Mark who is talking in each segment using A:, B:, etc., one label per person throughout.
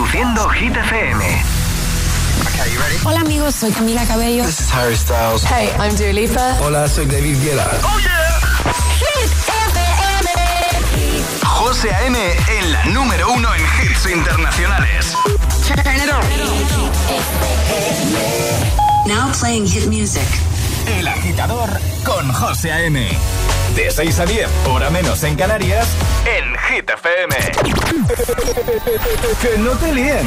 A: Reproduciendo Hit FM.
B: Okay, you ready?
C: Hola amigos, soy Camila Cabello.
B: This is Harry Styles.
C: Hey, I'm Dua Lipa.
D: Hola, soy David Guetta.
A: ¡Oh, yeah!
C: Hit FM.
A: José A.M. en la número 1 en hits internacionales.
C: Turn it on.
E: Now playing hit music.
A: El Agitador con José A.M. De 6 a 10, hora menos en Canarias, en Hit FM.
D: Que no te líen.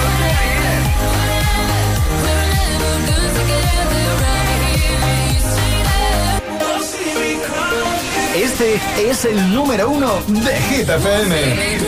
D: Este es el número 1 de Hit FM.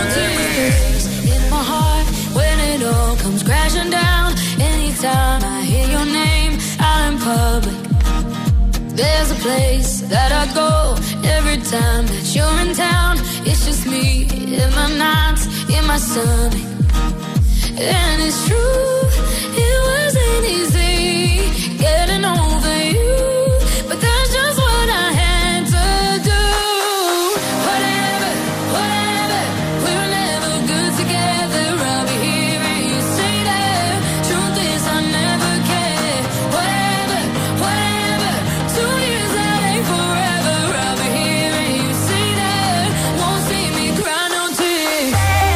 F: There's a place that I go every time that you're in town. It's just me in my nights, in my stomach. And it's true, it wasn't easy getting over you, but that's just what I had to do. Whatever, whatever, we were never good together. I'll be here and you say that. Truth is I never cared. Whatever, whatever, 2 years that ain't forever. I'll be here and you say that. Won't see me cry no tears.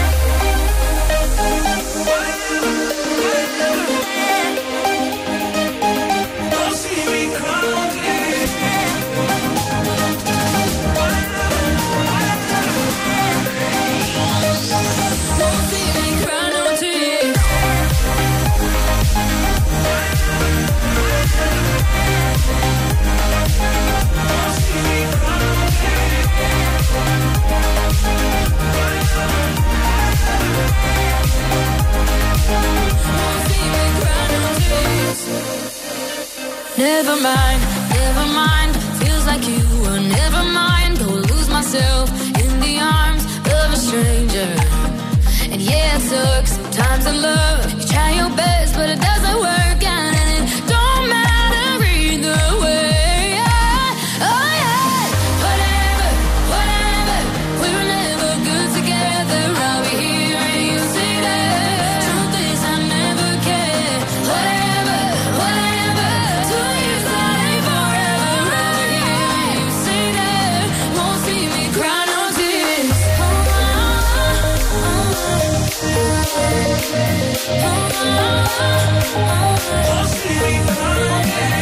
F: Never mind, never mind. Feels like you were never mind. Go lose myself in the arms of a stranger. And yeah, it sucks sometimes in love. You try your best, but it doesn't work out, and it don't matter either way. Oh yeah, whatever, whatever. We were never good together. I'll be here and you say that. Truth is I never cared. Whatever, whatever. 2 years that ain't forever. I'll be here and you say that. Won't see me cry no tears. Won't see me cry.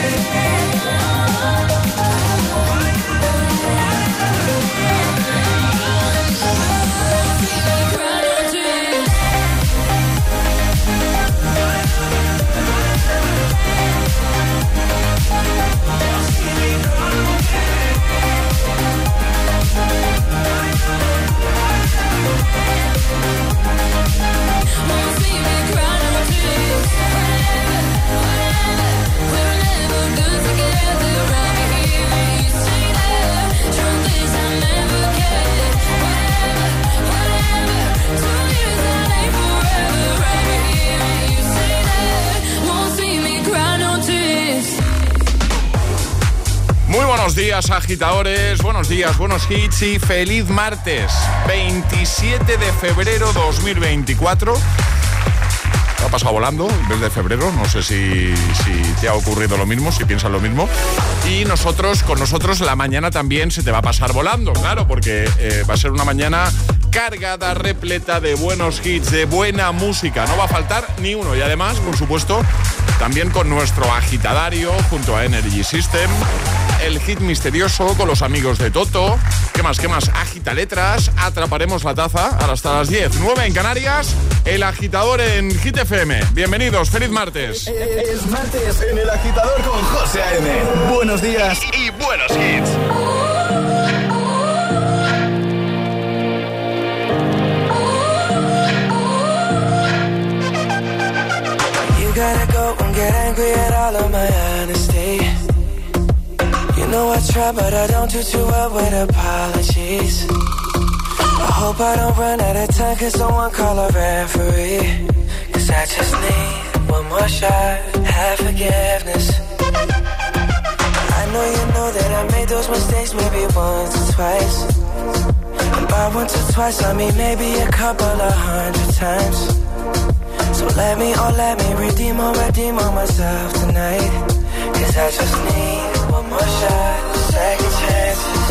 G: Muy buenos días, agitadores, buenos días, buenos hits y feliz martes, 27 de febrero 2024. Ha pasado volando el mes de febrero, no sé si te ha ocurrido lo mismo, si piensas lo mismo. Y con nosotros la mañana también se te va a pasar volando, claro, porque va a ser una mañana cargada, repleta de buenos hits, de buena música. No va a faltar ni uno. Y además, por supuesto, también con nuestro agitadario junto a Energy System, el hit misterioso con los amigos de Toto. ¿Qué más? Agita letras, atraparemos la taza hasta las 10, 9 en Canarias. El agitador en Hit FM. Bienvenidos, feliz martes.
D: Es martes en el agitador con José A.M. Buenos días
A: Y buenos hits.
H: You gotta go and get angry at all of my honesty. You know I try, but I don't do too well with apologies. I hope I don't run out of time, cause someone call a referee. Cause I just need one more shot, have forgiveness. I know you know that I made those mistakes maybe once or twice. And by once or twice I mean maybe a couple of 100 times. So let me redeem on myself tonight. 'Cause I just need one more shot, second chances.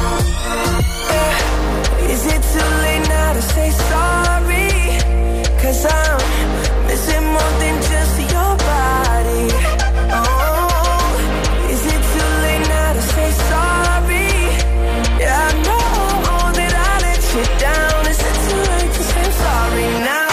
H: Yeah. Is it too late now to say sorry? 'Cause I'm missing more than just your body. Oh, is it too late now to say sorry? Yeah, I know that I let you down. Is it too late to say sorry now?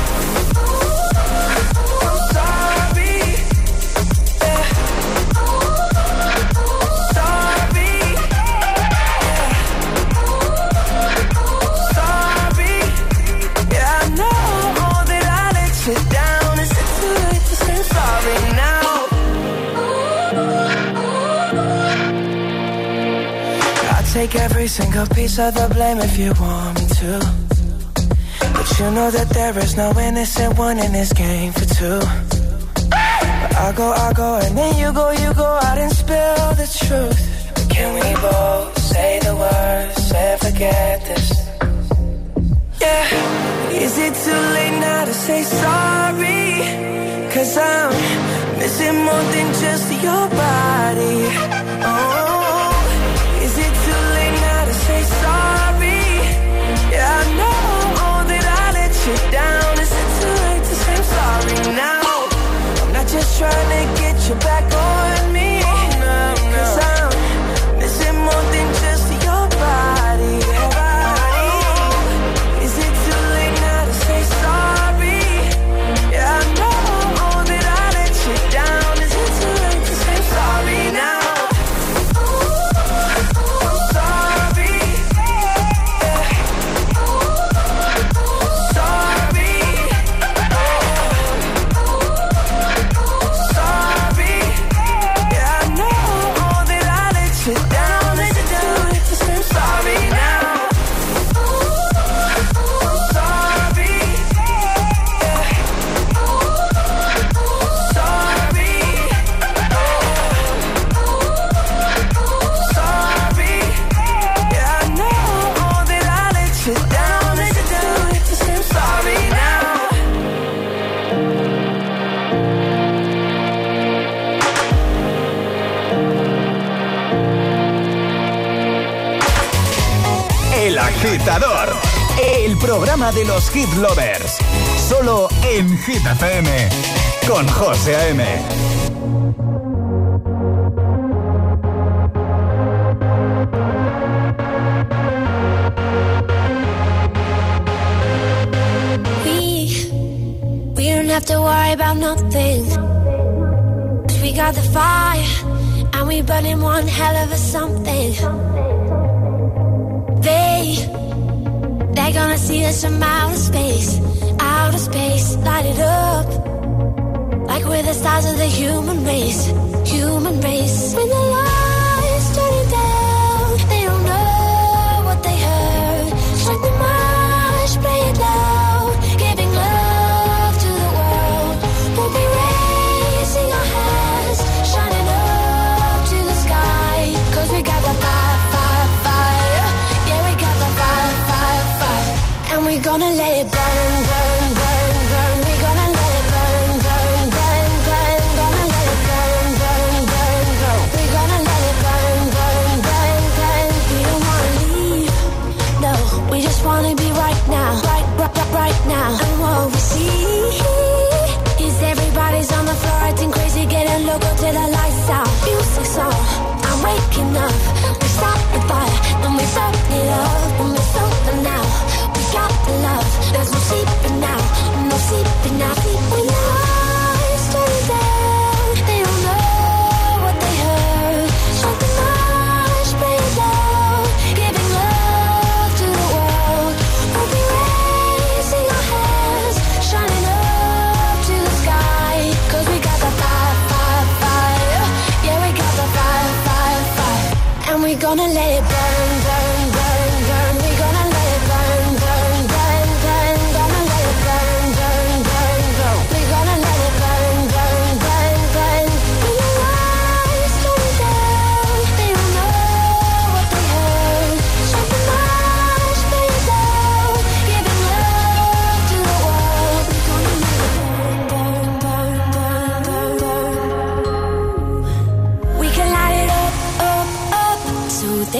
H: Take every single piece of the blame if you want me to. But you know that there is no innocent one in this game for two. But I go, and then you go out and spill the truth. But can we both say the words and forget this? Yeah. Is it too late now to say sorry? 'Cause I'm missing more than just your body. Oh, say sorry. Yeah, I know that I let you down. Is it too late to say sorry now? I'm not just trying to get you back on me. No. 'Cause I'm missing more than just your body. Is it too late now to say sorry? Yeah, I know that I let you down. Is it too late to say sorry now?
D: El Agitador, el programa de los hit lovers, solo en Hit FM, con José A.M.
F: We don't have to worry about nothing, 'cause we got the fire, and we burning one hell of a something. They're gonna see us from outer space, light it up, like we're the stars of the human race. When the lights turning down, they don't know what they heard. Strike the march, play it loud, giving love to the world. We'll be raising our hands, shining up to the sky, 'cause we got the fire. And we're gonna let it burn, burn, burn, burn. We're gonna let it burn, burn, burn, burn. Gonna let it burn, burn, burn, burn. We're gonna let it burn, burn, burn, burn. We don't wanna leave, no. We just wanna be right now, right now. And what we see is everybody's on the floor acting crazy, getting loco till the lights out. Music's on, I'm waking up. We start the fire, then we burn it up, and we're something now. Got the love, there's no sleeping now, no sleeping now. When the lights turn down, they don't know what they heard. Shut the march, play it loud, giving love to the world. We'll be raising our hands, shining up to the sky, 'cause we got the fire, fire, fire. Yeah, we got the fire, fire, fire. And we're gonna let it burn, burn, burn, burn. We're gonna let it burn, burn, burn, burn. Gonna let it burn, burn, burn, burn. We're gonna let it burn, burn, burn, burn. When the lights turn down, they don't know what they heard. Shut the march, play it loud, giving love to the world. We're gonna let it burn.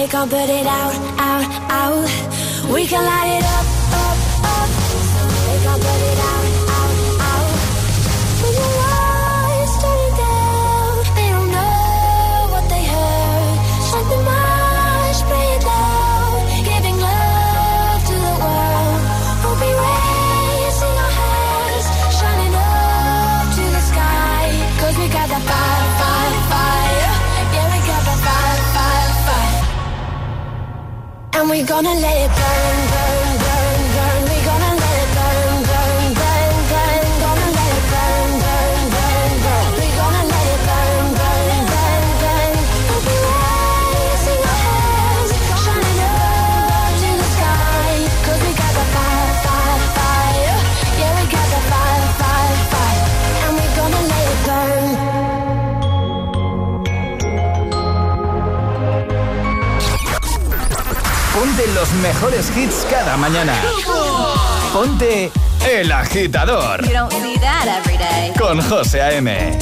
F: they can't put it out, out, out. We can light it up, up, up. So they can't put it out, out, out. When the lights turn down, they don't know what they heard. Shut the march, play it loud, giving love to the world. We'll be raising our hands, shining up to the sky. 'Cause we got that fire, fire, fire. Yeah, we got that fire, fire, fire. And we're gonna let it burn, burn, burn, burn. We're gonna let it burn, burn, burn, burn. Gonna let it burn, burn, burn, burn. We're gonna let it burn, burn, burn, burn. We'll be raising our hands, shining up to the sky. 'Cause we got the fire, fire, fire. Yeah, we got the fire, fire, fire. And we're gonna let it burn.
D: Ponte los mejores hits cada mañana. Ponte El Agitador.
C: You don't see that every day.
D: Con José A.M.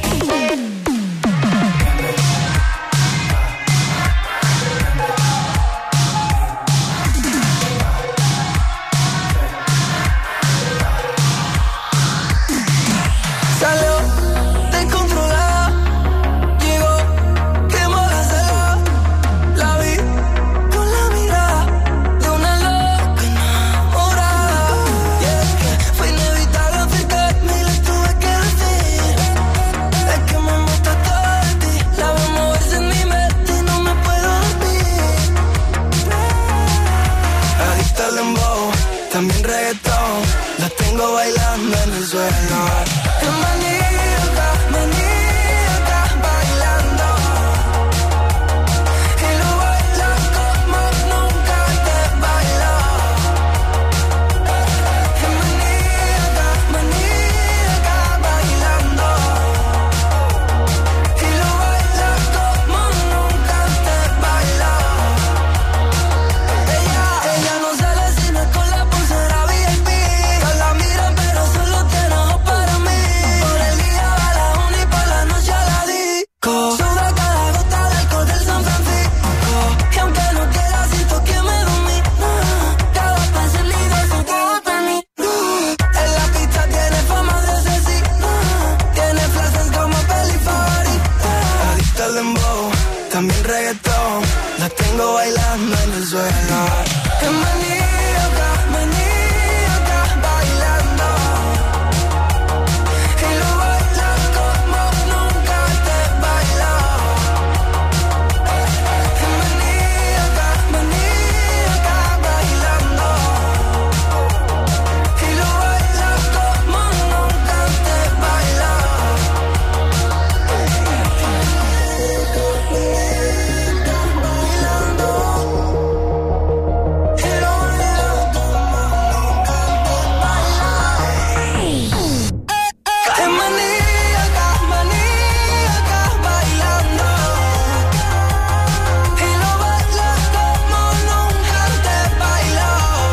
H: Salió descontrolada, llegó, quemó la sala. La vi con la mirada de una loca enamorada. Y es que fue inevitable acercarme y le tuve que decir: es que me gusta todo de ti. La veo moverse en mi mente y no me puedo dormir. Adicta al dembow, también reggaetón. La tengo bailando en el suelo. Es maníaca, maníaca, bailando. Y lo baila como nunca te bailó. Es maníaca, maníaca, bailando. Y lo baila como nunca te bailó. Ella no sale si no es con la pulsera VIP. Todas la miran pero solo tiene ojos para mí. Por el día va a la uni y por la noche a la disco. Suda cada gota de alcohol del San Francisco. Y aunque no quiera siento que me domina. Cada paso es libre, eso todo para mí. En la pista tiene fama de asesina. Tiene frases como peli favorita. Adicta al dembow, también reggaetón. La tengo bailando en el suelo. Es maníaca, maníaca, bailando. Y lo baila como nunca te bailó. Es maníaca, maníaca, bailando. Y lo baila como nunca te bailó. Es maníaca, maníaca, bailando. Y lo baila como nunca te bailó.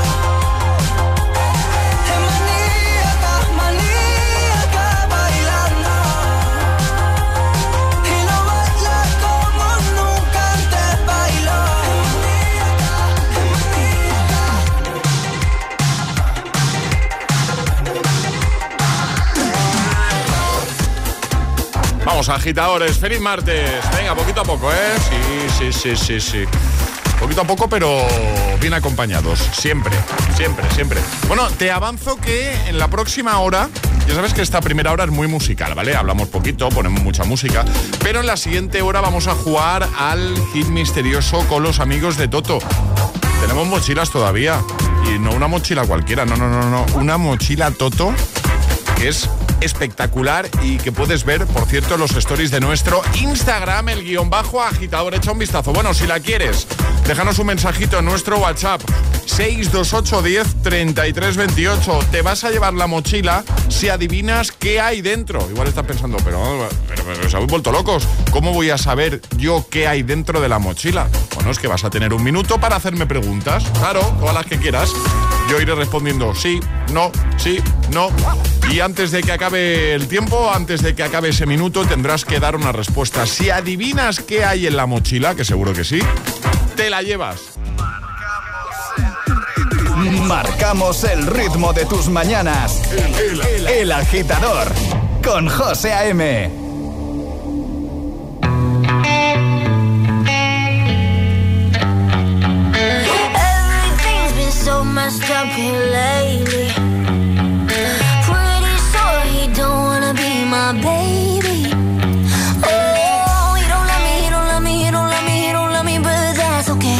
H: Es maníaca, maníaca, bailando. Y lo baila como nunca te bailó.
G: Vamos, agitadores, feliz martes. Venga, poquito a poco, ¿eh? Sí. Poquito a poco, pero bien acompañados. Siempre. Bueno, te avanzo que en la próxima hora, ya sabes que esta primera hora es muy musical, ¿vale? Hablamos poquito, ponemos mucha música, pero en la siguiente hora vamos a jugar al hit misterioso con los amigos de Toto. Tenemos mochilas todavía, y no una mochila cualquiera, no. Una mochila Toto que es espectacular y que puedes ver, por cierto, en los stories de nuestro Instagram, el _agitador. Echa un vistazo. Bueno, si la quieres, déjanos un mensajito en nuestro WhatsApp 628 10 33 28. Te vas a llevar la mochila si adivinas qué hay dentro. Igual estás pensando, pero se habéis vuelto locos. ¿Cómo voy a saber yo qué hay dentro de la mochila? Bueno, es que vas a tener un minuto para hacerme preguntas. Claro, todas las que quieras. Yo iré respondiendo sí, no. Y antes de que acabe el tiempo, antes de que acabe ese minuto, tendrás que dar una respuesta. Si adivinas qué hay en la mochila, que seguro que sí, te la llevas.
D: Marcamos el ritmo de tus mañanas. El Agitador con José A.M.
F: Everything's been so messed up here lately. Pretty sure he don't wanna be my baby. Oh, he don't love me, he don't love me, he don't love me, he don't love me, but that's okay.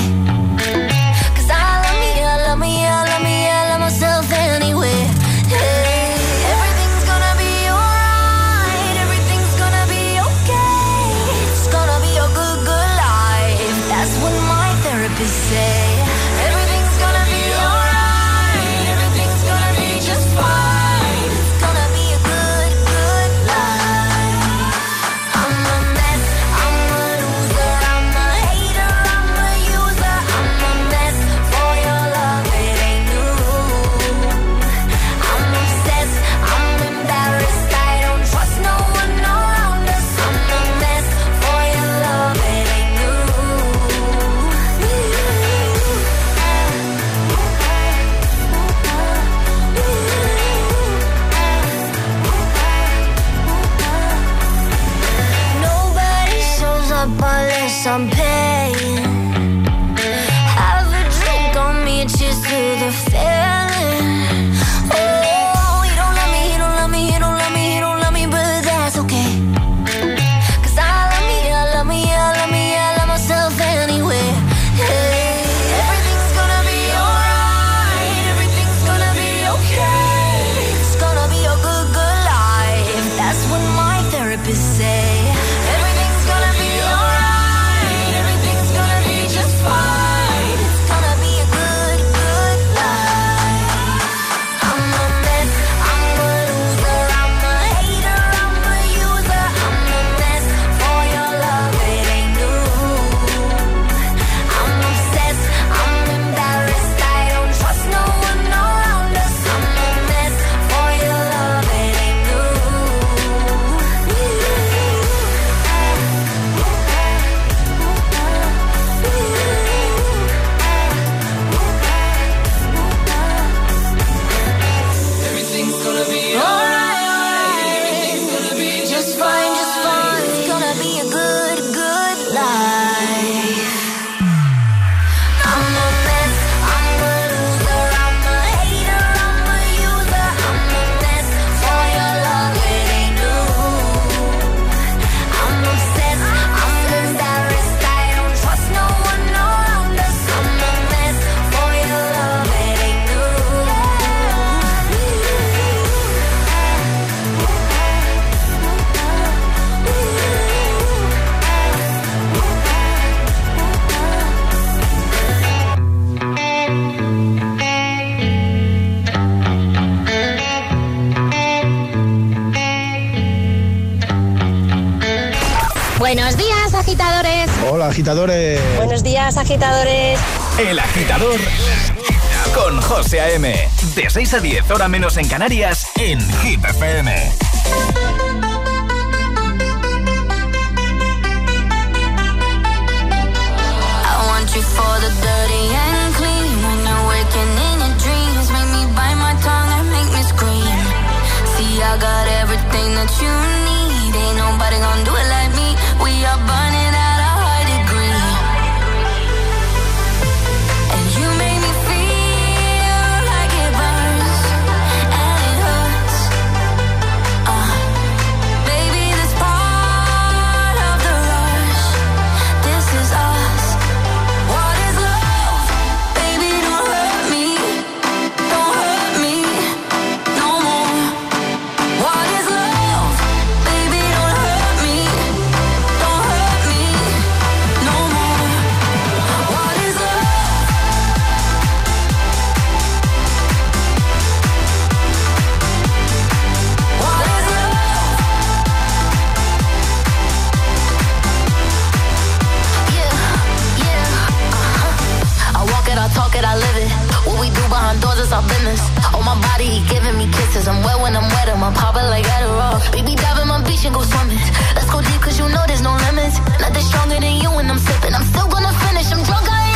F: I love myself anyway. Hey, everything's gonna be alright. Everything's gonna be okay. It's gonna be a good, good life. That's what my therapist say. Everything's gonna be alright. Everything's gonna be just fine. It's gonna be a good, good life. I'm a mess. I'm a loser. I'm a hater. I'm a user. I'm a mess for your love. It ain't new. I'm obsessed. I'm embarrassed. I don't trust no one around us. I'm a mess for your love. It ain't new. Nobody shows up unless I'm paying. Have a drink on me, cheers to the feeling. Oh, he don't love me, he don't love me, he don't love me, he don't love me, but that's okay. 'Cause I love me, I love me, I love me, I love myself anyway. Hey, everything's gonna be alright. Everything's gonna be okay. It's gonna be a good, good life. That's what my therapist say. Everything's gonna be alright. Everything's gonna be just fine. It's gonna be a good, good life. I'm a mess. I'm a loser. I'm a hater. I'm a user. I'm a mess for your love. It ain't new. I'm obsessed. I'm embarrassed. I don't trust no one around us. I'm a mess for your love. It ain't new.
H: Everything's gonna be
F: Alright, everything's gonna be just fine, just fine. It's gonna be a good, good life. I'm a mess, I'm a loser, I'm a hater, I'm a user, I'm a mess for your love, it ain't new. I'm obsessed, I'm embarrassed, I don't trust no one around us. I'm a mess for your love, it ain't new.
C: Buenos días, agitadores.
I: Hola, agitadores.
C: Buenos días, agitadores.
D: El Agitador con José A.M. De 6 a 10, hora menos en Canarias, en Hit FM.
F: I want you for the dirty and clean. When you're waking in your dreams, make me bite my tongue and make me scream. See, I got everything that you need. Ain't nobody gonna do it like me. We are burning at a high degree. And you make me feel like it burns and it hurts. Baby, this part of the rush. This is us. What is love? Baby, don't hurt me. Don't hurt me no more. What is love? Baby, don't hurt me. Don't hurt me no more. What is love? What is love? I walk it, I talk it, I live it. What we do behind doors is our business. On my body, he giving me kisses. I'm wet when I'm wet, I'm popping like Adderall. Baby, dive in my beach and go swimming. Let's go deep, cause you know there's no limits. Nothing stronger than you when I'm sipping. I'm still gonna finish, I'm drunk, I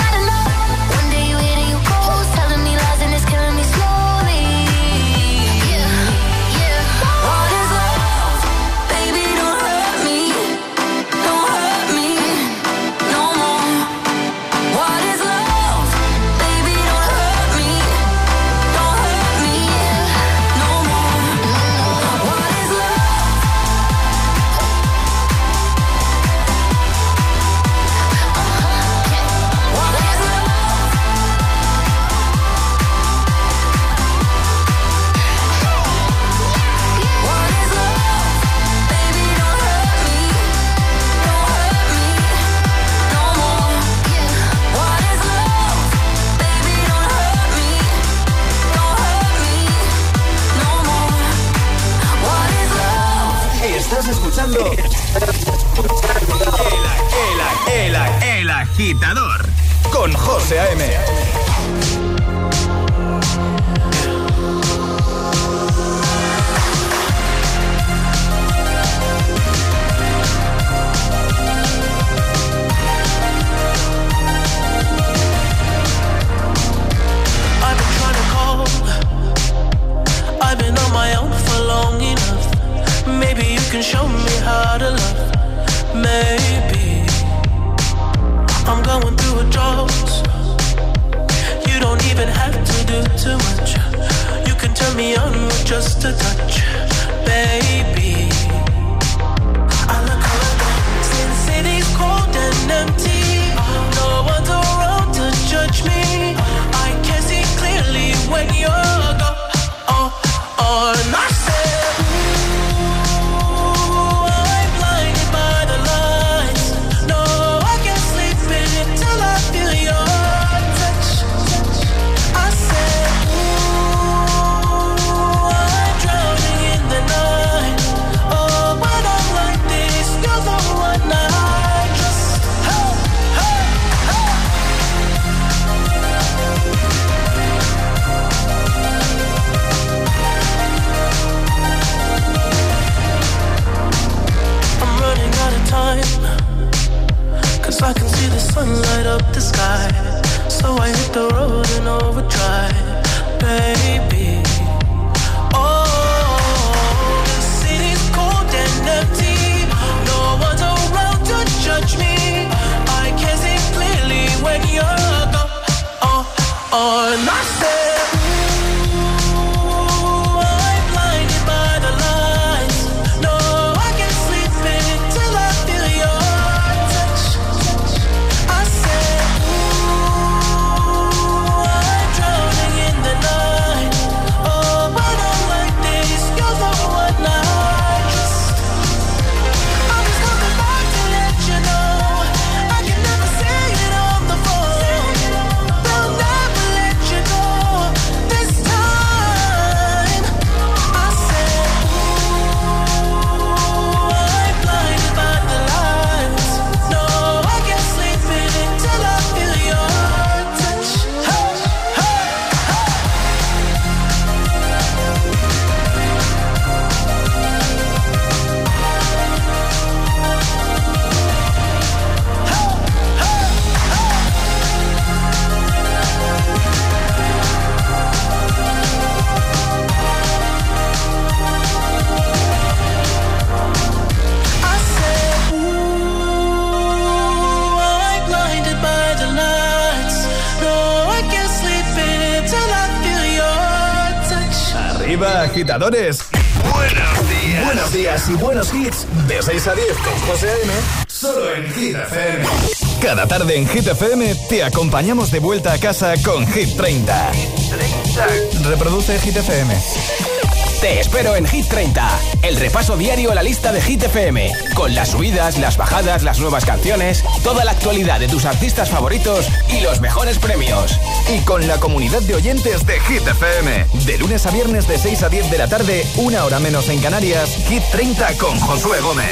D: Estás escuchando El Agitador con José A.M.
H: I've been on my own for long enough. Maybe you can show me how to love. Maybe I'm going through a drought. You don't even have to do too much. You can turn me on with just a touch, baby. I look around since city's cold and empty. No one's around to judge me. I can see clearly when you're gone. And I said, ooh, I'm blinded by the lights. No, I can't sleep until I feel your touch. I said, ooh, I'm drowning in the night. Oh, when I'm like this, you're the one I trust. Hey, hey, hey. Time, 'cause I can see the sun light up the sky. So I hit the road in overdrive, baby. Oh, the city's cold and empty. No one's around to judge me. I can see clearly when you're gone. Oh, and I said, ooh, I'm blinded by the lights. No, I can't sleep until I feel your touch. I said, ooh, I'm drowning in the night. Oh, when I'm like this, you're the one I trust. I'm just coming back to let you know I can never say it on the phone. They'll never let you go this time. I said, ooh, I'm blinded by the lights. No, I can't sleep until I feel your touch. Hey, hey, hey. I said, ooh, I'm blinded by the lights. No, I can't sleep until I feel your touch.
D: Arriba, agitadores.
A: Buenos días.
D: Buenos días y buenos hits. De 6 a 10 con José A.M. Solo en Hit FM. Cada tarde en Hit FM te acompañamos de vuelta a casa con Hit 30. Reproduce Hit FM.
I: Te espero en Hit 30, el repaso diario a la lista de Hit FM, con las subidas, las bajadas, las nuevas canciones, toda la actualidad de tus artistas favoritos y los mejores premios.
D: Y con la comunidad de oyentes de Hit FM. De lunes a viernes de 6 a 10 de la tarde, una hora menos en Canarias, Hit 30 con Josué Gómez.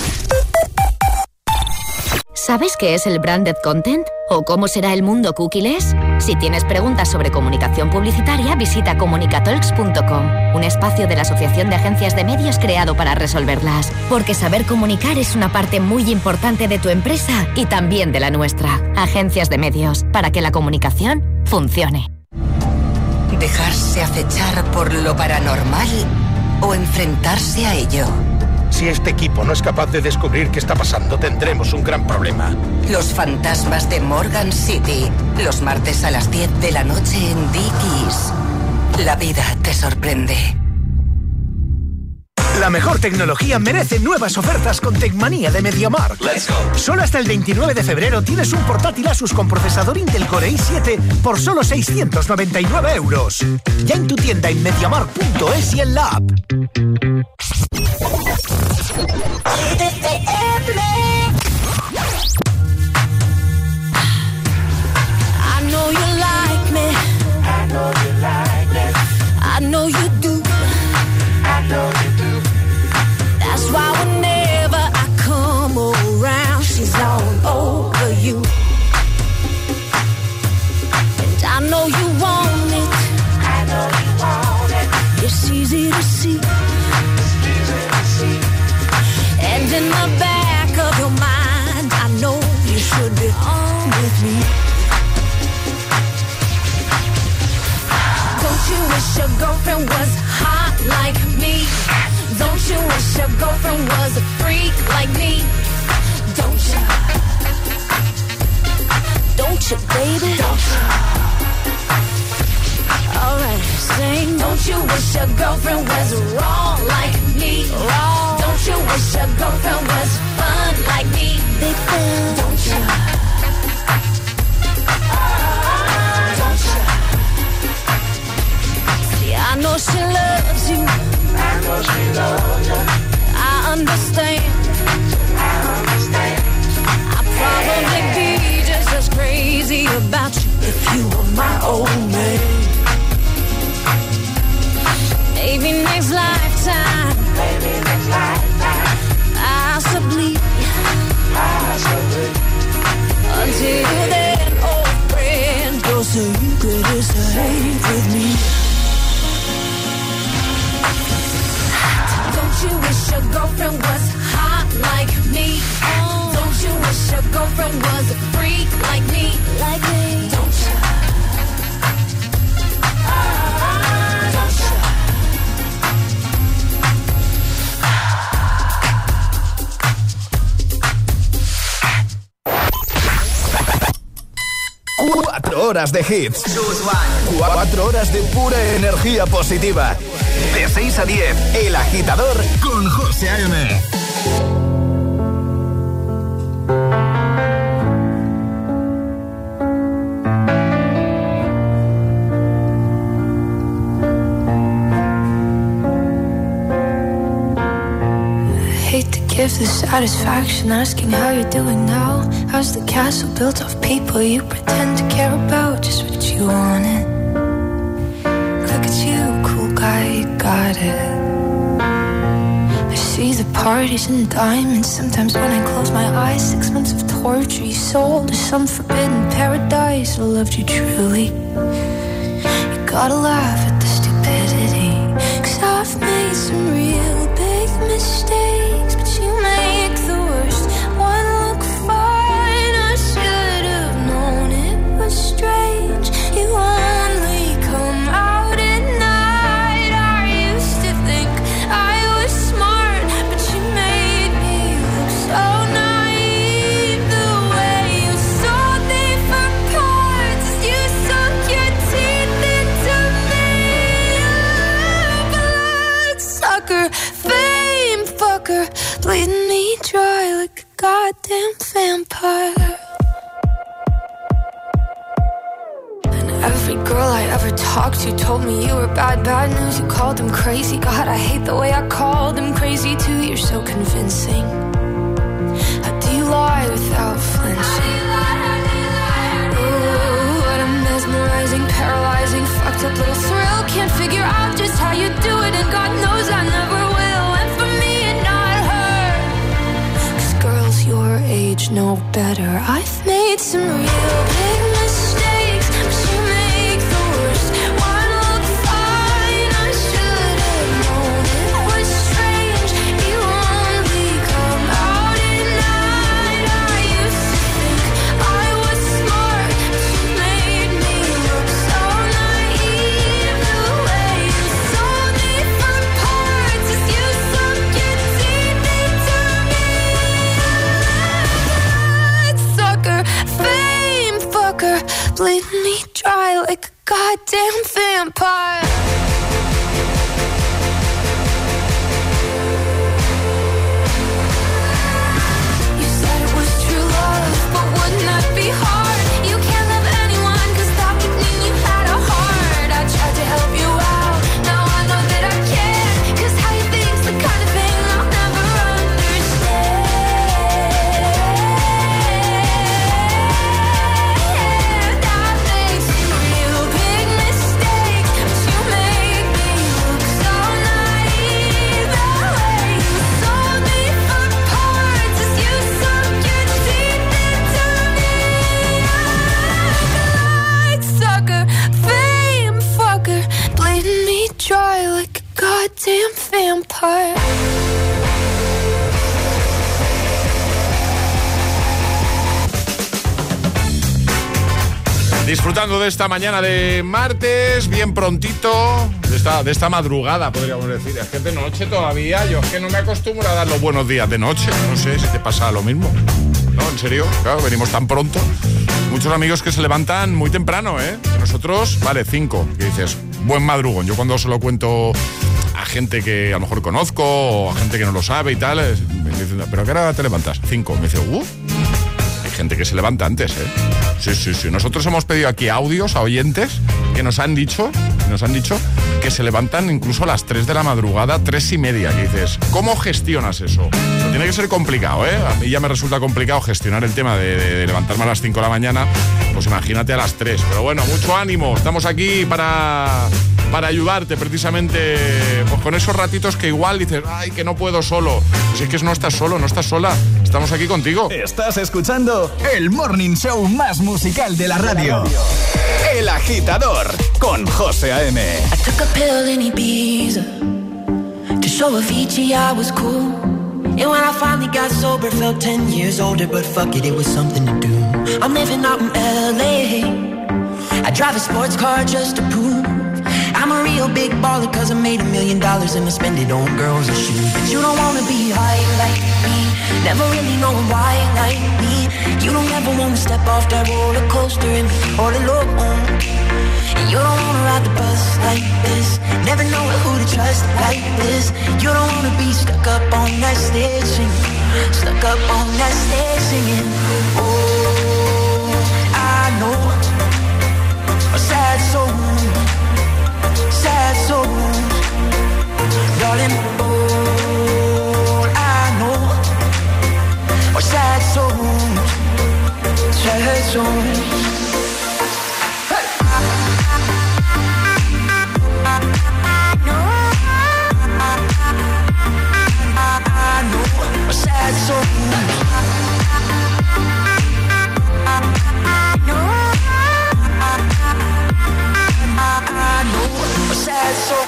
J: ¿Sabes qué es el branded content? ¿O cómo será el mundo cookieless? Si tienes preguntas sobre comunicación publicitaria, visita comunicatalks.com, un espacio de la Asociación de Agencias de Medios creado para resolverlas. Porque saber comunicar es una parte muy importante de tu empresa y también de la nuestra. Agencias de Medios, para que la comunicación funcione.
K: ¿Dejarse acechar por lo paranormal o enfrentarse a ello?
L: Si este equipo no es capaz de descubrir qué está pasando, tendremos un gran problema.
K: Los fantasmas de Morgan City, los martes a las 10 de la noche en Dickies. La vida te sorprende.
M: La mejor tecnología merece nuevas ofertas con Tecmanía de MediaMarkt.
A: Let's go.
M: Solo hasta el 29 de febrero tienes un portátil Asus con procesador Intel Core i7 por solo 699 euros. Ya en tu tienda en MediaMarkt.es y en la app.
F: I know you like me. I know you like me. I know you do. I know you do. That's why when it's easy to see. And in the back of your mind, I know you should be on with me. Don't you wish your girlfriend was hot like me? Don't you wish your girlfriend was a freak like me? Don't you? Don't you, baby? Don't you? Alright, sing. Don't you wish your girlfriend was wrong like me? Wrong. Don't you wish your girlfriend was fun like me? Big fan. Don't you? Don't you? See, I know she loves you. I know she loves you. I understand. I understand. I'd probably be just as crazy about you if you were my old man. Maybe next lifetime. Maybe next lifetime. Possibly. Possibly. Until then, old friend, go so you could escape with me. Don't you wish your girlfriend was hot like me? Don't you wish your girlfriend was a freak like me? Like me? Don't you? Don't you?
D: 4 horas de hits. 4 horas de pura energía positiva. De 6 a 10, El Agitador con José A.M.
F: Give the satisfaction asking how you're doing now. How's the castle built of people you pretend to care about? Just what you wanted. Look at you, cool guy, you got it. I see the parties and diamonds. Sometimes when I close my eyes, 6 months of torture you sold to some forbidden paradise. I loved you truly. You gotta laugh at the stupidity, 'cause I've made some real big mistakes, but you make the worst one look fine. I should have known it was strange. You only come out at night. I used to think I was smart, but you made me look so naive. The way you sold me for parts, you sunk your teeth into me. Bloodsucker, fame fucker, bleeding me dry like a goddamn vampire. And every girl I ever talked to told me you were bad, bad news. You called them crazy. God, I hate the way I called them crazy too. You're so convincing. How do you lie without flinching? Ooh, what a mesmerizing, paralyzing, fucked up little thrill. Can't figure out just how you do it, and God knows I never will. And for me and not her, 'cause girls your age know better. I've made some real big mistakes, but you make the worst one look fine. I should have known it was strange. You only come out at night. I used to think I was smart, but you made me look so naive. The way you sold me for parts as you sunk your teeth into me. Sucker, fame fucker, bleeding me dry like a goddamn vampire. You said it was true love, but wouldn't that be hard? You can't love anyone, 'cause that would mean you had a heart. I tried to help you out, now I know that I can't, 'cause how you think's the kind of thing I'll never understand. I made some real big mistakes, but you goddamn vampire.
G: Disfrutando de esta mañana de martes, bien prontito, de esta madrugada, podríamos decir. Es que de noche todavía, yo es que no me acostumbro a dar los buenos días de noche. No sé si te pasa lo mismo. No, en serio, claro, venimos tan pronto. Muchos amigos que se levantan muy temprano, ¿eh? Nosotros, vale, 5, que dices, buen madrugón. Yo cuando se lo cuento a gente que a lo mejor conozco o a gente que no lo sabe y tal, me dicen, ¿pero a qué hora te levantas? 5. Me dice, hay gente que se levanta antes, ¿eh? Sí. Nosotros hemos pedido aquí audios a oyentes que nos han dicho que se levantan incluso a las 3 de la madrugada, 3:30. Que dices, ¿cómo gestionas eso? Pero tiene que ser complicado, ¿eh? A mí ya me resulta complicado gestionar el tema de levantarme a las 5 de la mañana. Pues imagínate a las 3. Pero bueno, mucho ánimo. Estamos aquí para ayudarte precisamente, pues con esos ratitos que igual dices, ay, que no puedo solo. Pues es que no estás solo, no estás sola. Estamos aquí contigo.
D: Estás escuchando el morning show más musical de la radio. El Agitador, con José A.M.
N: I took a pill in Ibiza to show Avicii I was cool. And when I finally got sober, felt 10 years older. But fuck it, it was something to do. I'm living out in L.A. I drive a sports car just to prove I'm a real big baller, cause I made $1 million and I spend it on girls and shoes. But you don't wanna be high like me, never really knowing why like me. You don't ever wanna step off that roller coaster and be all alone. And you don't wanna ride the bus like this, never know who to trust like this. You don't wanna be stuck up on that stage singing, stuck up on that stage singing. Oh, I know a sad soul, sad souls, darling, all I know are sad souls, sad souls. I know are sad souls. I know a sad soul.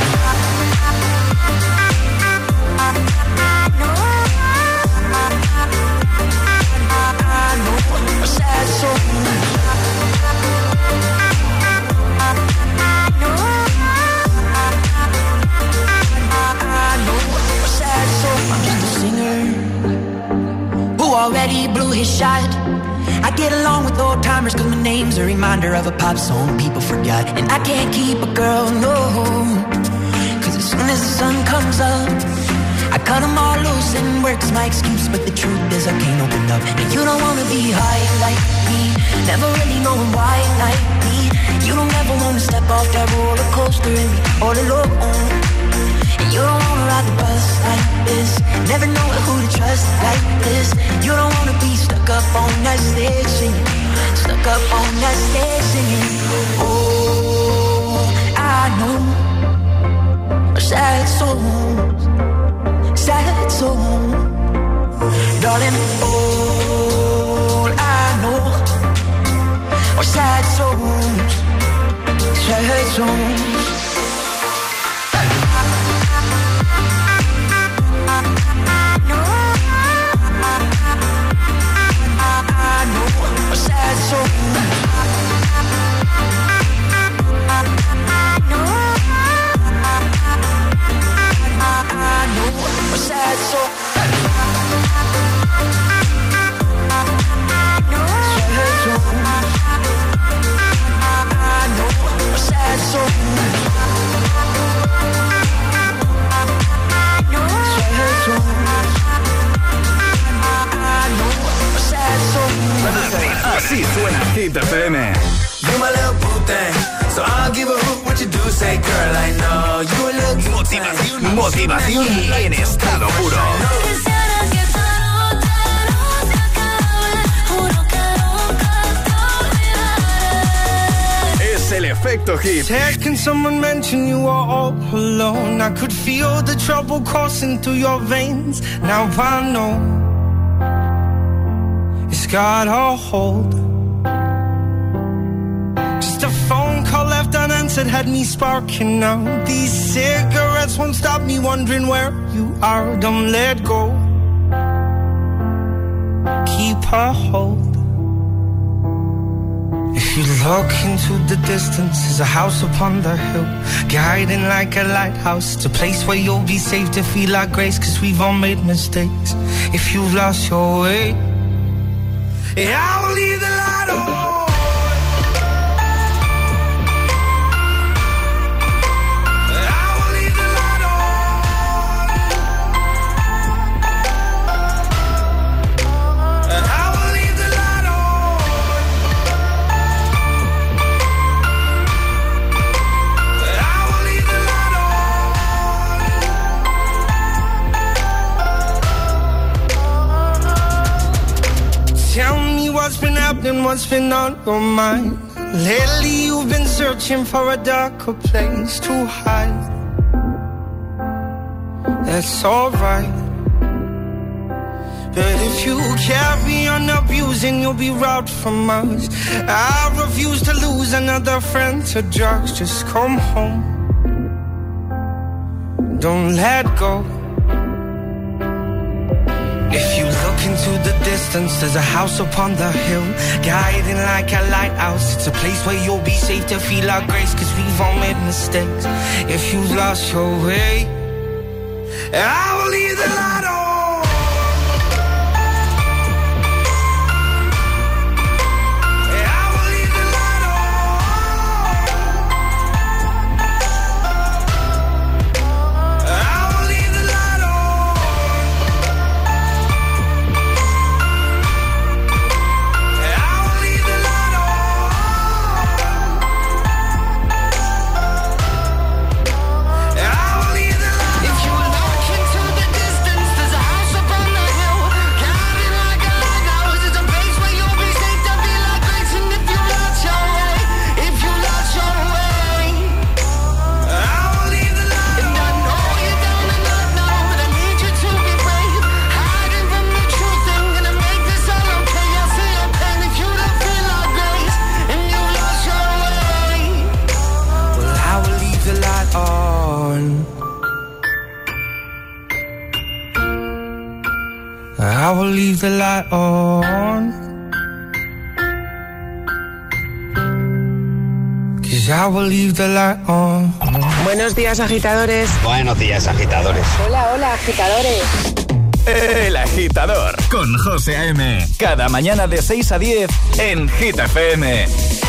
N: I know a sad soul. I'm just a singer who already blew his shot. I get along with old timers cause my name's a reminder of a pop song people forgot. And I can't keep a girl, no, cause as soon as the sun comes up I cut them all loose and work's my excuse. But the truth is I can't open up. And you don't wanna be high like me, never really knowing why like me. You don't ever wanna step off that roller coaster and be all alone. And you don't wanna ride the bus like this, never know who to trust like this. You don't wanna be stuck up on that stage singing, stuck up on that stage singing. Oh, I know sad souls, sad souls, darling. All I know are sad souls, sad souls.
D: Así suena Hit FM.
H: You my little boo thing, so I'll give a hoot what you do. Say, girl, I know you a little
D: motivación, motivación en estado puro. Es el efecto hit.
O: Can someone mention you are all alone? I could feel the trouble coursing through your veins. Now I know it's got a hold. Just a phone call left unanswered once that had me sparking now. These cigarettes won't stop me wondering where you are. Don't let go. Keep a hold. If you look into the distance, there's a house upon the hill, guiding like a lighthouse. It's a place where you'll be safe to feel our grace, 'cause we've all made mistakes. If you've lost your way, yeah, I will leave the light on. What's been happening, what's been on your mind? Lately you've been searching for a darker place to hide. That's alright, but if you carry on abusing, you'll be robbed from us. I refuse to lose another friend to drugs. Just come home, don't let go. If you look into the distance, there's a house upon the hill, guiding like a lighthouse. It's a place where you'll be safe to feel our grace, 'cause we've all made mistakes. If you've lost your way, I will leave the light on. I will leave the light on, 'cause I will leave the light on.
P: Buenos días, agitadores.
B: Buenos días, agitadores.
P: Hola, hola, agitadores.
D: El Agitador con José A.M. Cada mañana de 6 a 10 en Hit FM.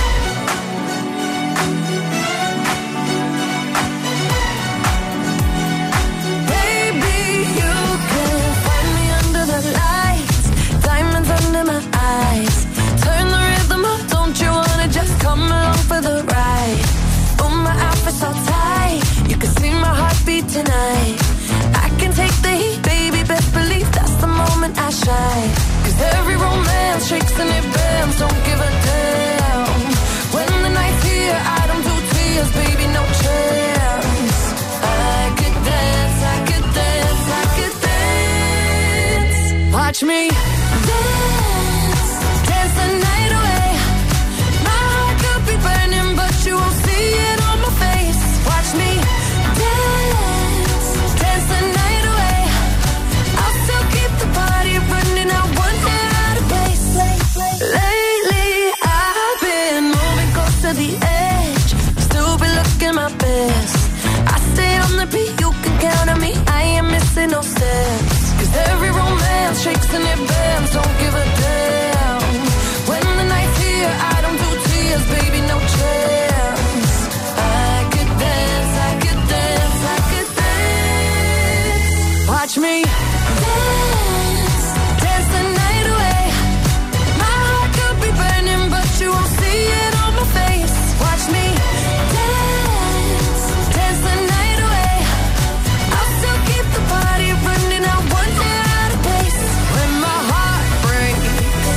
F: Tonight I can take the heat, baby, best believe that's the moment I shine. 'Cause every romance shakes and it bends, don't give a damn. When the night's here, I don't do tears, baby, no chance. I could dance, I could dance, I could dance. Watch me dance, dance the night away. My heart could be burning, but you won't see it on my face. Watch me dance, dance the night away. I'll still keep the party running, I won't get out of place. Lately I've been moving close to the edge, still be looking my best. I stay on the beat, you can count on me, I ain't missing no steps. 'Cause every romance shakes and it bends, don't give a damn. When the night's here, I don't do tears, baby, no chance. I could dance, I could dance, I could dance. Watch me dance, dance the night away. My heart could be burning, but you won't see it on my face. Watch me dance, dance the night away. I'll still keep the party running, I won't get out of place. When my heart breaks,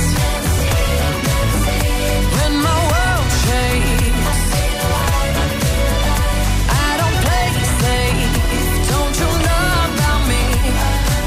F: when my world shakes, I don't play it safe, don't you know about me?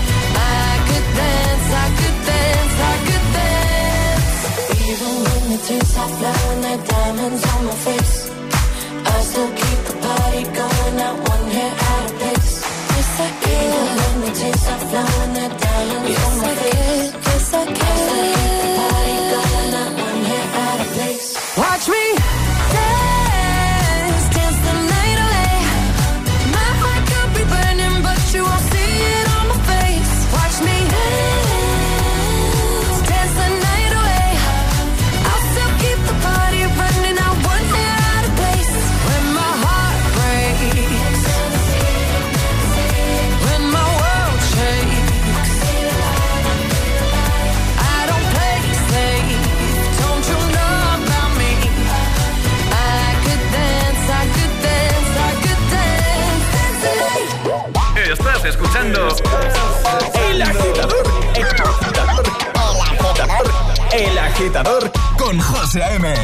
D: Estás escuchando El Agitador. El Agitador con José A.M.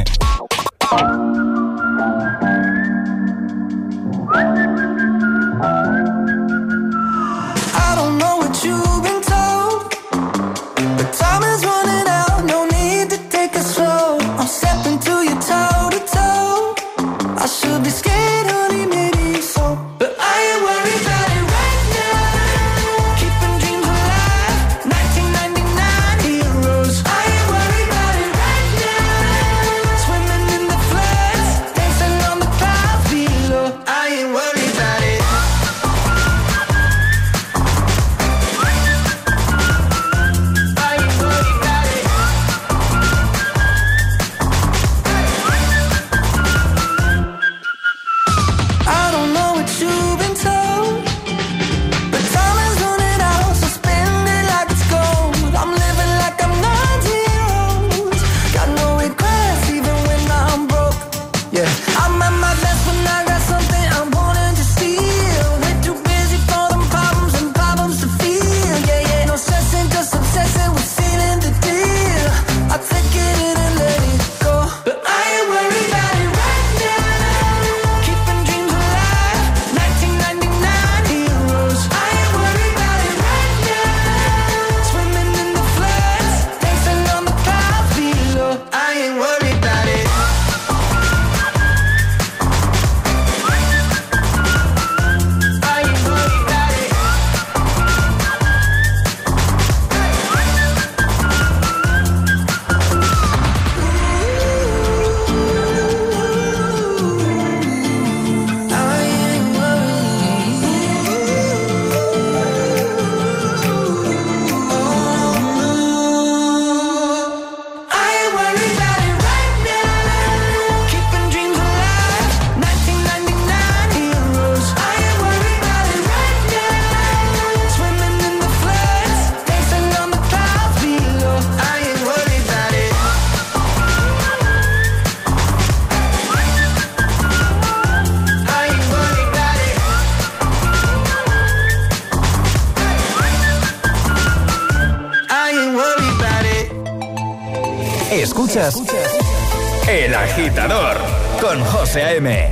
H: I don't know what you've been told, but time is running out, no need to take it slow. I'm stepping to you toe to toe. I should be scared, honey, maybe so, but I ain't worried about it right now. Keeping dreams alive, 1999 heroes. I ain't worried about it right now. Swimming in the floods, dancing on the clouds below. I ain't worried about it. I don't know what you've been told, but time is running out, so spend it like it's gold. I'm living like I'm 90 years old. Got no regrets even when I'm broke. Yeah, I'm at my best when I got something I'm wanting to steal. We're too busy for them problems and problems to feel. Yeah, yeah, no stressing, just obsessing with sealing the deal. I take it in and let it go, but I ain't worried about it right now. Keeping dreams alive, 1999 heroes. I ain't worried about it right now. Swimming in the floods, dancing on the clouds below. I ain't worried about it. I ain't worried about it. I ain't worried about it right now. Keeping dreams alive, 1999 heroes. I ain't worried about it right now. Swimming in the floods, dancing on the clouds below. I ain't worried about it. I ain't worried about it. I ain't worried about it.
D: Escuchas El Agitador con José A.M.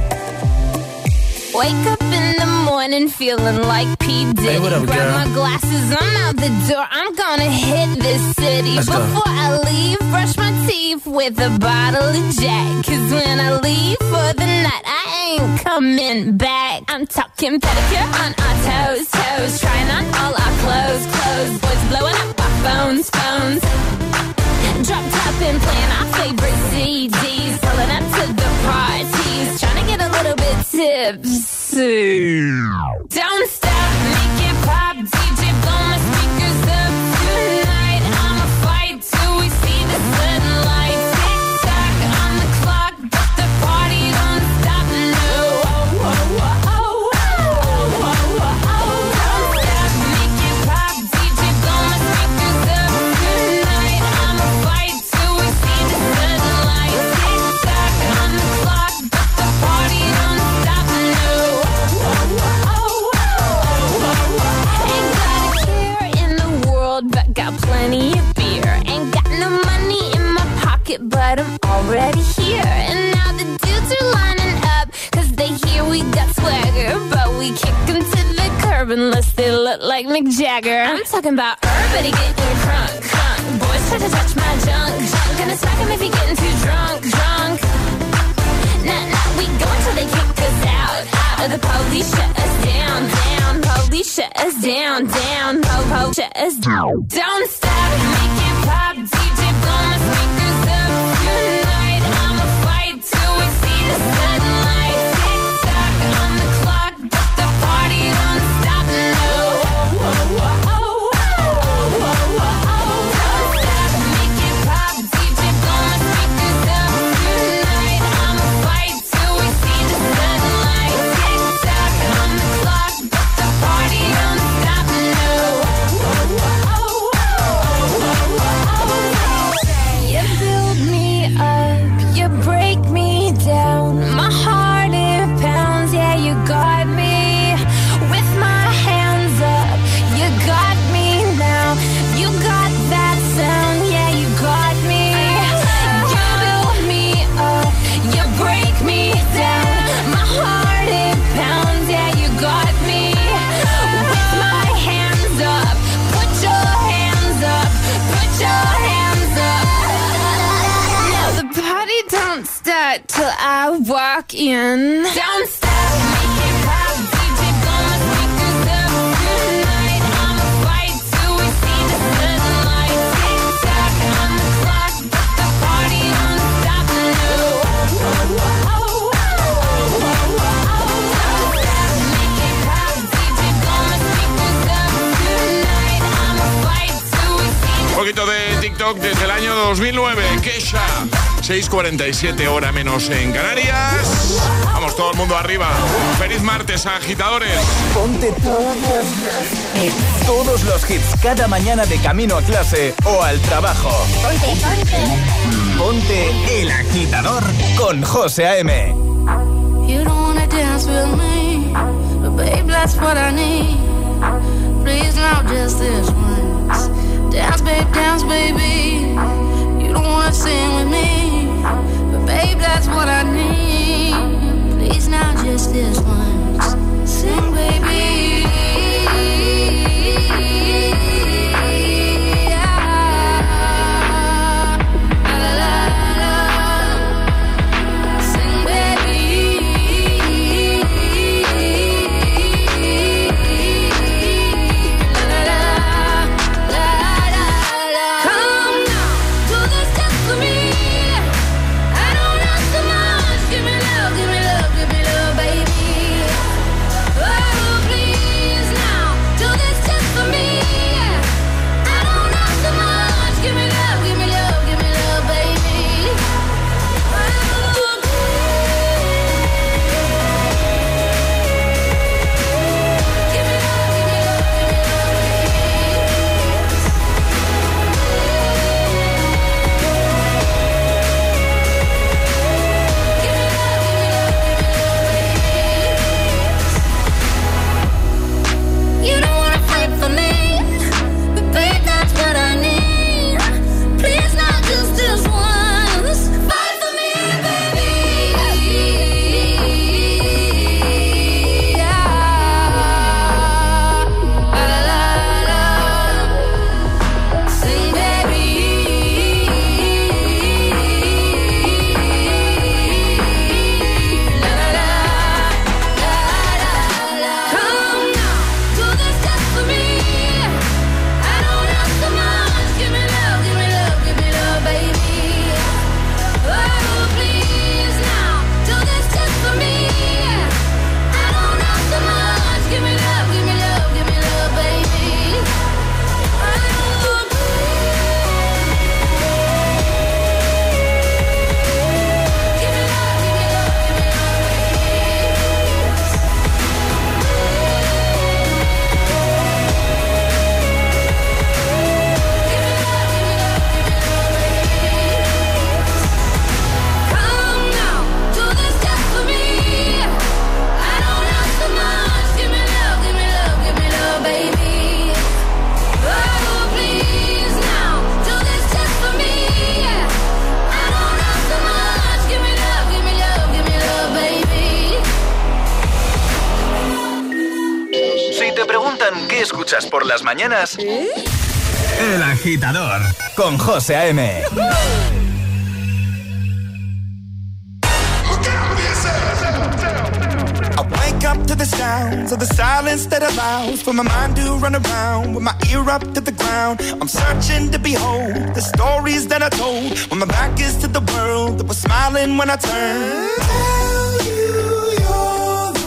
F: Wake up in the morning feeling like P. Diddy.
Q: Hey, what up,
F: Grab
Q: girl?
F: my glasses, I'm out the door. I'm gonna hit this city.
Q: Let's go.
F: Before I leave, brush my teeth with a bottle of Jack. 'Cause when I leave for the night, I ain't coming back. I'm talking pedicure on our toes, toes. Trying on all our clothes, clothes. Boys blowing up our phones, phones. Drop top and playing our favorite CDs. Pulling up to the parties. Trying to get a little bit tipsy. Don't stop, make it pop. DJ blow my speakers up tonight. I'ma fight till we see the sunlight. Tick tock on the clock, but the party don't stop. No. Oh, oh, oh, oh, oh, oh, oh. Don't stop, make it pop. DJ blow my speakers up tonight. I'ma fight till we see the sunlight. Tick tock on the clock, but the party don't stop. No. Oh, oh, oh, oh, oh. Ain't got a care in the world, but got plenty of beer. Ain't got no money in my pocket, but I'm already here. And now the dudes are lining up, 'cause they hear we got swagger. But we kick them to the curb unless they look like Mick Jagger. I'm talking about everybody getting crunk, crunk. Boys try to touch my junk, junk. Gonna smack him if he getting too drunk, drunk. Nah, nah, we go until they kick us out, out. Or the police shut us down, down. Police shut us down, down. Po, shut us down. Don't stop, make it pop. DJ blow my speakers up tonight. I'ma fight till we see the sunlight. Tick tock on the clock, but the party don't stop. No. Oh, oh, oh, oh, oh, oh, oh. Don't stop, make it pop. DJ blow my speakers up tonight. I'ma fight till we see the sunlight. Tick tock on the clock, but the party don't stop. No. Oh, oh, oh, oh, oh, oh. walk in. Don't stop, make it pop, DJ blow my speakers up. Tonight I'ma fight till we see the sunlight. Tick tock on the clock, but the party don't stop. No. Make it pop, DJ blow my speakers up. Tonight I'ma fight till we see the.
G: Un poquito de TikTok desde el año 2009. Kesha. 6:47 hora menos en Canarias. Vamos, todo el mundo arriba. Feliz martes, agitadores.
D: Ponte todos los hits cada mañana de camino a clase o al trabajo. Ponte El Agitador con José A.M.
F: You don't wanna dance with me, but babe, that's what I need. Please now, just this once. Dance, baby. You don't wanna sing with me, but babe, that's what I need. Please now, just this once. Sing, baby.
D: escuchas por las mañanas? El Agitador con José A.M.
O: Up to the sounds of the silence that allows for my mind to run around with my ear up to the ground. I'm searching to behold the stories that I told when my back is to the world that was smiling when I turned. Tell you you're the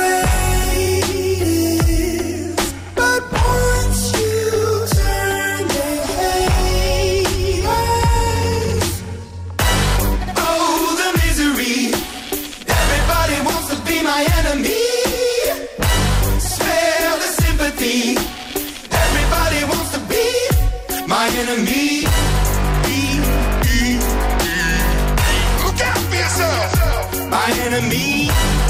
O: greatest, but once you turn they hate us. Oh, the misery. Everybody wants to be my enemy. Everybody wants to be my enemy. Look out for yourself. My enemy.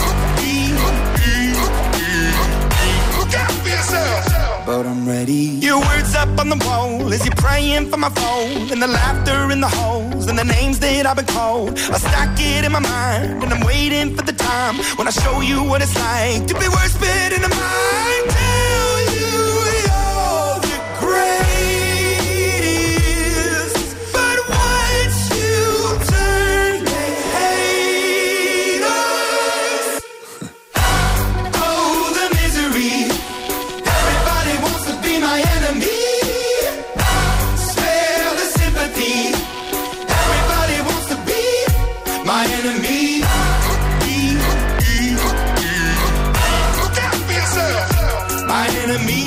O: Look out for yourself. But I'm ready. Your words up on the wall as you're praying for my phone, and the laughter in the halls and the names that I've been called. I stack it in my mind and I'm waiting for the time when I show you what it's like to be worse fit in the mind. Tell you you're the greatest, but once you turn they hate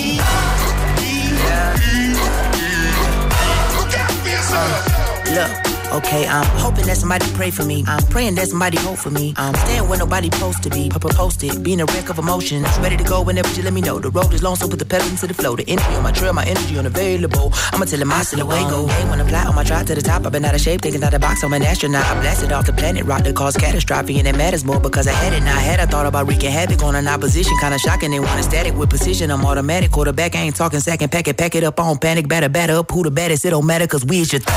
N: Look, okay, I'm hoping that somebody pray for me. I'm praying that somebody hope for me. I'm staying where nobody supposed to be. Posted, being a wreck of emotions. Ready to go whenever you let me know. The road is long, so put the pedal into the flow. The energy on my trail, my energy unavailable. I'ma tell him I still away go. Hey, when I fly on my drive to the top, I've been out of shape, thinking out the box. I'm an astronaut. I blasted off the planet, rock that caused catastrophe, and it matters more because I had it. Now I had, I thought about wreaking havoc on an opposition, kinda shocking. They want a static with precision. I'm automatic, quarterback. I ain't talking second, pack it up on panic, batter up. Who the baddest? It don't matter, cause we is your.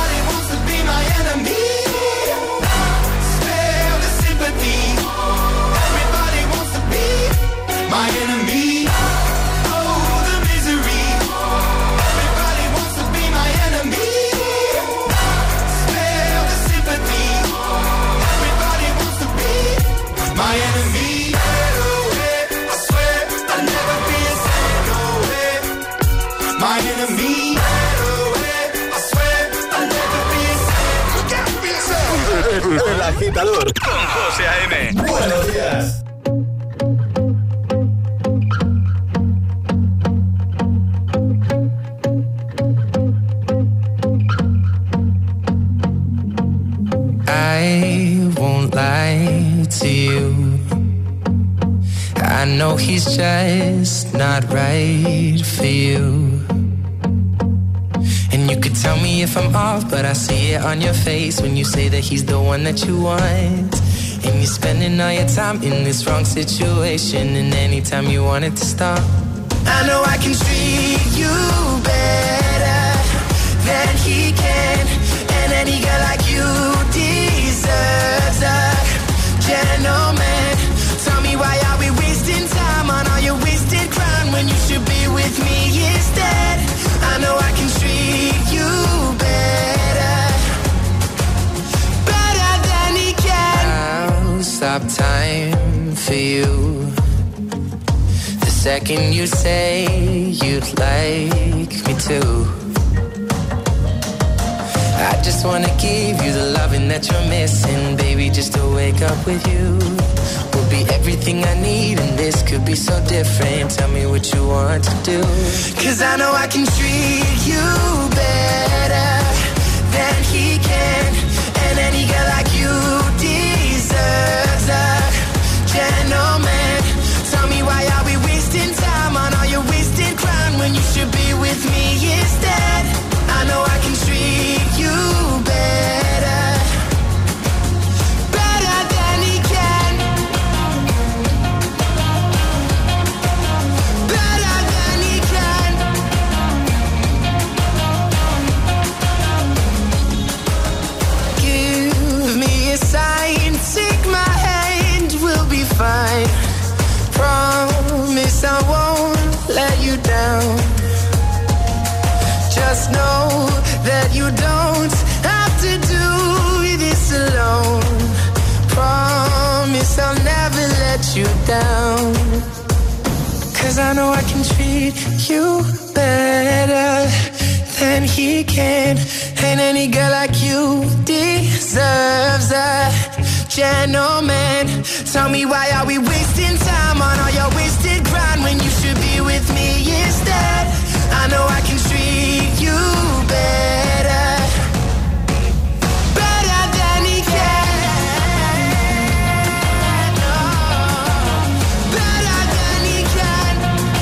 H: My enemy, oh the misery. Everybody wants to be my enemy. Spare the sympathy. Everybody wants to be my enemy. I swear I'll never be a second. My enemy. I swear I'll never be a second. Look out for yourself.
D: El Agitador con José A.M. Buenos días.
O: I won't lie to you. I know he's just not right for you. And you could tell me if I'm off, but I see it on your face when you say that he's the one that you want. And you're spending all your time in this wrong situation, and anytime you want it to stop, I know I can treat you better than he can. And any girl like you deserves a gentleman. Tell me why are we wasting time on all your wasted crime when you should be with me instead. I know I can treat you better, better than he can. I'll stop time for you the second you say you'd like me to. I just wanna give you the loving that you're missing, baby, just to wake up with you will be everything I need, and this could be so different. Tell me what you want to do, 'cause I know I can treat you better than he can. And any girl like you deserves a gentleman. Tell me why are we wasting time on all your wasted crime when you should be with me instead. I know I can treat you better, better than he can, better than he can. Give me a sign, take my hand, we'll be fine. Promise I won't let you down. Just know that you don't have to do this alone. Promise I'll never let you down. 'Cause I know I can treat you better than he can. And any girl like you deserves a gentleman. Tell me why are we wasting time on all your wasted grind when you should be with me instead. I know I can treat you better, better than he can. Oh, better than he can,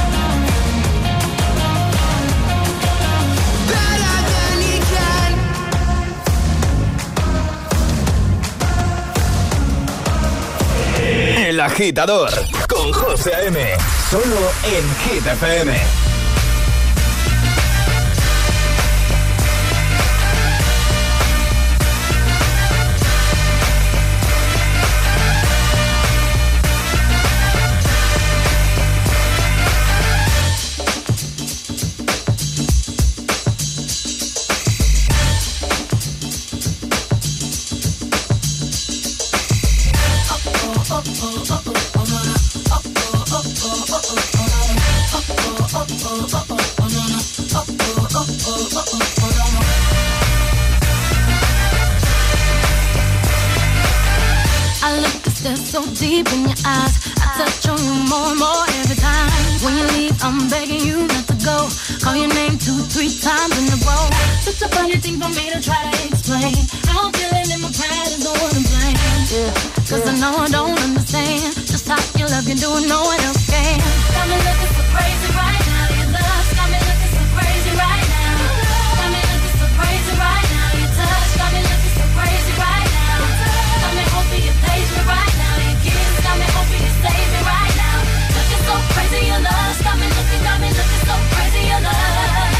O: better than he can.
D: El Agitador con José A.M. Solo en Hit FM.
F: So deep in your eyes, I touch on you more and more every time. When you leave, I'm begging you not to go. Call your name 2-3 times in a row. Such a funny thing for me to try to explain. How I'm feeling in my pride is the one I'm playing. Yeah, cause I know I don't understand just how your love can do no one else can. Got me looking so crazy right now. Your love's got me looking so crazy right now. Got me looking so crazy right now. Your touch got me looking so crazy right now. Got me hoping you page me right now. Your kiss got me hoping you save me right now. Looking so crazy, your love's got me looking so crazy, your love.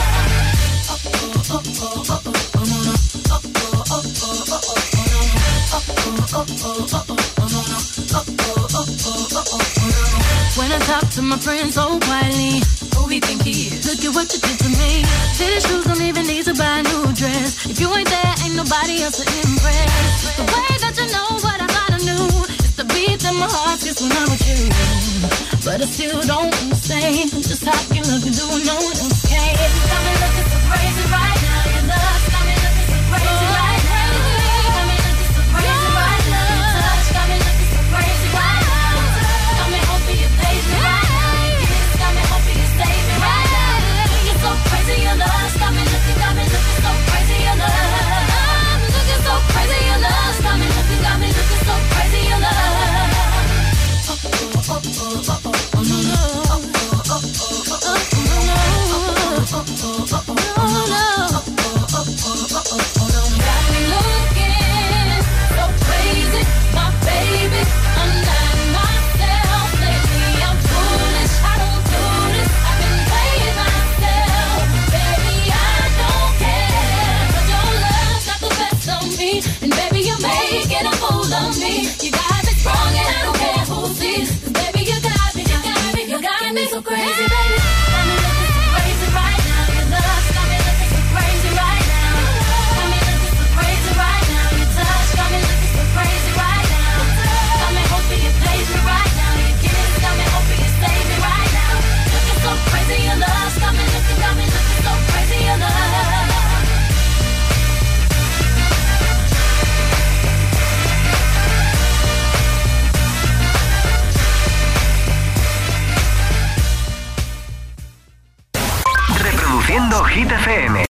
F: When I talk to my friends so quietly, who we think he is? Look at what you did to me. Fitted shoes don't even need to buy a new dress. If you ain't there, ain't nobody else to impress. It's the way that you know what I thought I knew. It's the beat that my heart gets when I'm with you. But I still don't understand just how your love can do no one else can. Got me looking so crazy right now. Your love got me looking so crazy right now. Got me looking so crazy right now. Your touch got me looking so crazy right now. Got me hoping you page me right now. Your kiss got me hoping you save me right now. You're so crazy, your love got me looking so crazy, your love. I'm looking so crazy, your love got me looking so crazy, your love. And baby, you're making a fool of me. You got me strong and I don't care who sees. Cause baby, you got me so crazy, baby. Got me looking so crazy right now. Your love got me looking so crazy right now. Got me looking so crazy right now. Your touch got me looking so crazy right now. Got me hoping you page me right now. Your kiss got me hoping you save me right now. Looking so crazy, your love got me looking so crazy, your love.
Q: Reproduciendo Hit FM.